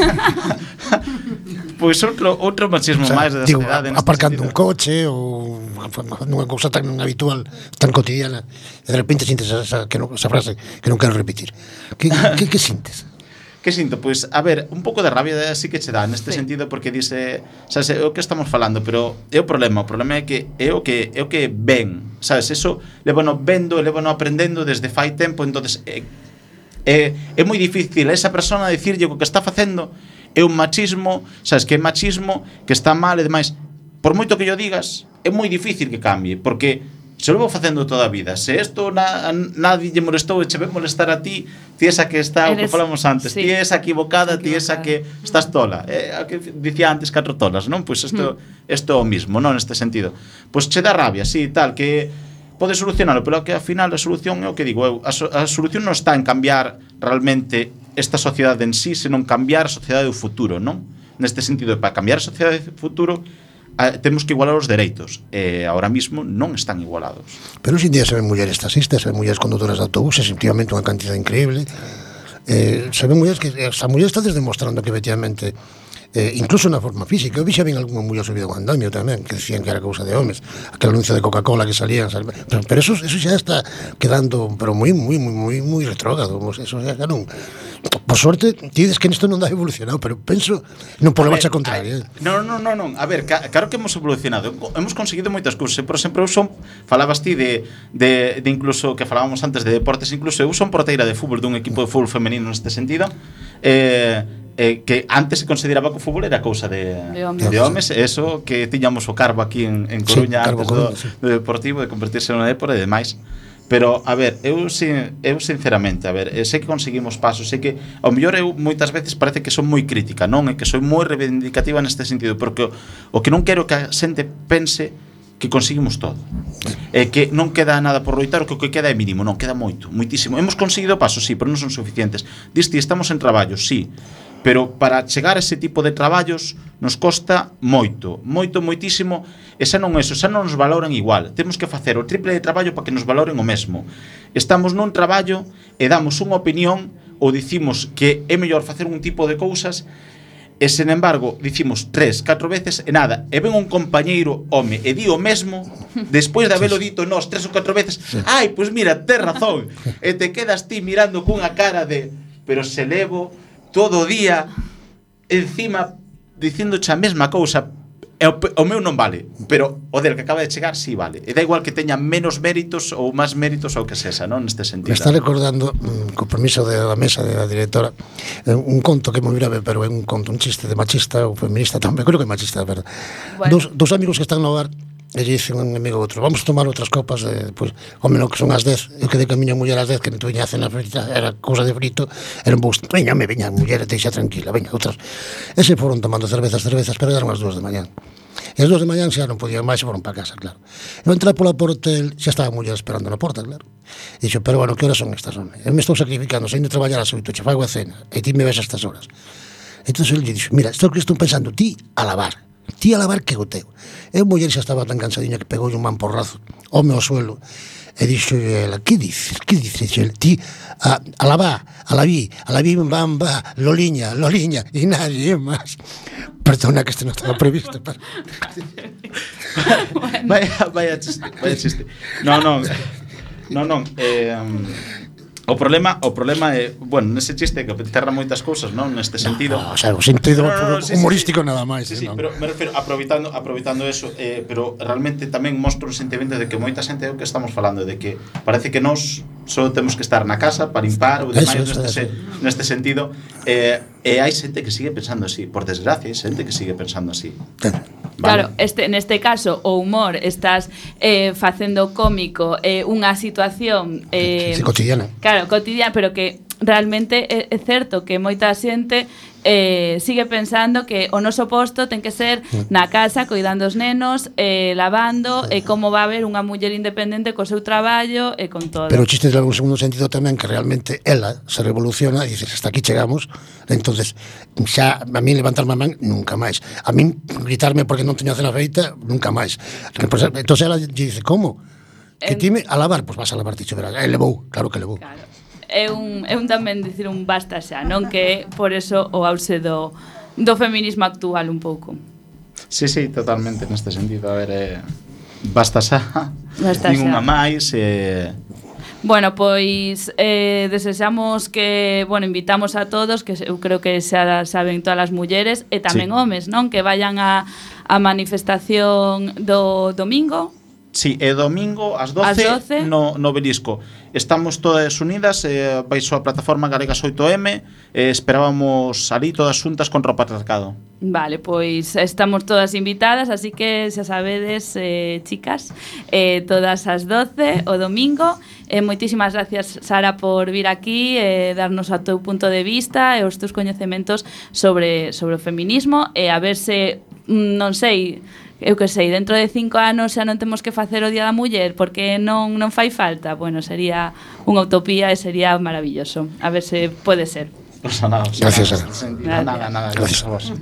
outro machismo máis da sociedade, aparcando un coche ou nunha cousa tan habitual, tan cotidiana, e de repente sintes esa frase que non quero repetir. Que sintes? Que sinto? Pois, a ver, un pouco de rabia así que che dá neste sentido, porque dice, sabes, é o que estamos falando, pero é o problema é que é o que ven, sabes, eso lévano vendo, lévano aprendendo desde fai tempo, entonces é moi difícil esa persona dicirlle o que está facendo é un machismo, sabes, que é machismo, que está mal e demais. Por moito que yo digas, é moi difícil que cambie, porque se lo vou facendo toda a vida. Se isto nadie lle molestou e che ven molestar a ti, ti esa que está, o que falamos antes, ti esa equivocada, ti esa que estás tola. A que dicía antes 4 tolas, non? Pois isto é o mismo, non? Neste sentido. Pois che dá rabia, sí, tal, que pode solucionarlo, pero que ao final a solución é o que digo eu. A solución non está en cambiar realmente esta sociedade en sí, senón cambiar a sociedade do futuro, non? Neste sentido, para cambiar a sociedade do futuro, temos que igualar os dereitos, e ahora mismo non están igualados. Pero hoxe en día se ven mulleres taxistas, se ven mulleres conductoras de autobuses, efectivamente unha cantidad increíble. Se ven mulleres que as mulleres están demostrando que efectivamente incluso na forma física. Eu vi xa ben algunha muller subido un andamio tamén, que decían que era cousa de homes, aquel anuncio de Coca-Cola que salían, pero eso xa está quedando pero moi retrógrado, eso xa non. Por sorte, ti dices que isto non dá evolucionado, pero penso non por la marcha contraria. Non. A ver, claro que hemos evolucionado. Hemos conseguido moitas cousas. Por exemplo, falabas ti de incluso que falábamos antes de deportes, incluso eu son porteira de fútbol dun equipo de fútbol femenino neste sentido. Que antes se consideraba que o fútbol era cousa de homes, eso que tiñamos o Carbo aquí en Coruña, sí, antes do Deportivo, de convertirse en unha dépora e demais. Pero, a ver, eu sinceramente, sei que conseguimos pasos, sei que ao mellor eu moitas veces parece que son moi crítica, non? E que soy moi reivindicativa neste sentido, porque o que non quero que a xente pense que conseguimos todo, e que non queda nada por loitar, o que queda é mínimo, non, queda moito, moitísimo. Hemos conseguido pasos, sí, pero non son suficientes. Disti, estamos en traballos, sí, pero para chegar a ese tipo de traballos nos costa moitísimo, e xa non nos valoran igual. Temos que facer o triple de traballo para que nos valoren o mesmo. Estamos nun traballo e damos unha opinión ou dicimos que é mellor facer un tipo de cousas e, sen embargo, dicimos 3, 4 veces e nada, e ven un compañeiro home e di o mesmo despois de habelo dito nós 3 ou 4 veces, ai, pois mira, tes razón, e te quedas ti mirando cunha cara de pero se levo todo o día encima dicíndoche a mesma cousa, o meu non vale, pero o del que acaba de chegar sí vale, e da igual que teña menos méritos ou máis méritos ou que sexa, non, neste sentido. Me está recordando, con permiso da mesa da directora, un conto que moi grave, pero é un conto, un chiste de machista ou feminista tamén, creo que é machista, de verdade. Bueno. Dos amigos que están no bar, e lle dice un amigo outro, vamos a tomar outras copas, pues, home, non, que son as 10, eu quedei con a miña muller as 10, que non tuviña a cena frita, era cousa de frito, era un bus, veña, muller, deixa tranquila, veña, outras. E se foron tomando cervezas, pero eran as 2 de mañán. E as 2 de mañán xa non podían máis, foron para casa, claro. Eu entrei pola porta, xa estaba a muller esperando na porta, claro. E dixo, pero bueno, que horas son estas, home? Eu me estou sacrificando, saindo a traballar as 8, che fago a cena, e ti me ves a estas horas. Entón, ele dixo, mira, isto que estou pensando, ti a lavar que o teu. E a muller xa estaba tan cansadinha que pegou un mamporrazo ao meu suelo e dixo ela, que dices? Ti a laví, bamba, loliña, e nadie máis. Perdona que este non estaba previsto. Vaya chiste. Non. O problema é, bueno, nese chiste que terra moitas cousas, non, neste sentido. O sea, o sentido humorístico nada máis. Sí, pero me refiro aproveitando eso, pero realmente tamén mostro un sentimento de que moita xente é o que estamos falando, de que parece que nós só temos que estar na casa para limpar ou demais neste sentido, e hai xente que sigue pensando así, por desgracia, hai xente que sigue pensando así. Claro, neste caso o humor estás facendo cómico unha situación cotidiana. Claro, cotidiana, pero que realmente é certo que moita xente sigue pensando que o noso posto ten que ser na casa, coidando os nenos, lavando, e como va a haber unha muller independente co seu traballo e con todo. Pero o chiste de algún segundo sentido tamén, que realmente ela se revoluciona e dices, hasta aquí chegamos, entonces xa a mí levantarme a man nunca máis, a mí gritarme porque non teño a cena feita nunca máis. Entonces ela dice, como? Que ti me a lavar, pois vas a lavar, ticho, verás, levou, claro que levou. Claro. É un tamén dicir un basta xa, non, que por eso o auxe do feminismo actual un pouco. Sí, totalmente neste sentido, a ver, basta xa, ninguna máis. Bueno, pois desexamos que, bueno, invitamos a todos, que eu creo que xa saben todas as mulleres e tamén homes, non, que vayan a manifestación do domingo. Sí, e domingo ás 12 no Belisco. Estamos todas unidas, baixo a plataforma Galegas 8M, esperábamos ali todas xuntas contra o patriarcado. Vale, pois estamos todas invitadas, así que xa sabedes, chicas, todas as 12 o domingo. Moitísimas gracias, Sara, por vir aquí e darnos o teu punto de vista e os teus coñecementos sobre o feminismo, e a ver se, non sei, eu que sei, dentro de 5 anos xa non temos que facer o Día da Muller porque non fai falta. Bueno, sería unha utopía e sería maravilloso. A ver se pode ser. Gracias, Sara. Nada, gracias a vos.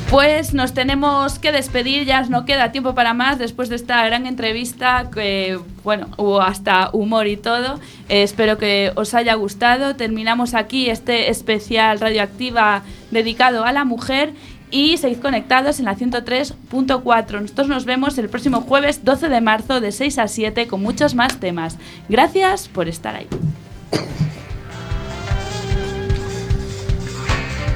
Pues nos tenemos que despedir, ya no queda tiempo para más después de esta gran entrevista que, bueno, hubo hasta humor y todo. Espero que os haya gustado. Terminamos aquí este especial Radioactiva dedicado a la mujer y seguid conectados en la 103.4. Nosotros nos vemos el próximo jueves 12 de marzo de 6 a 7 con muchos más temas. Gracias por estar ahí.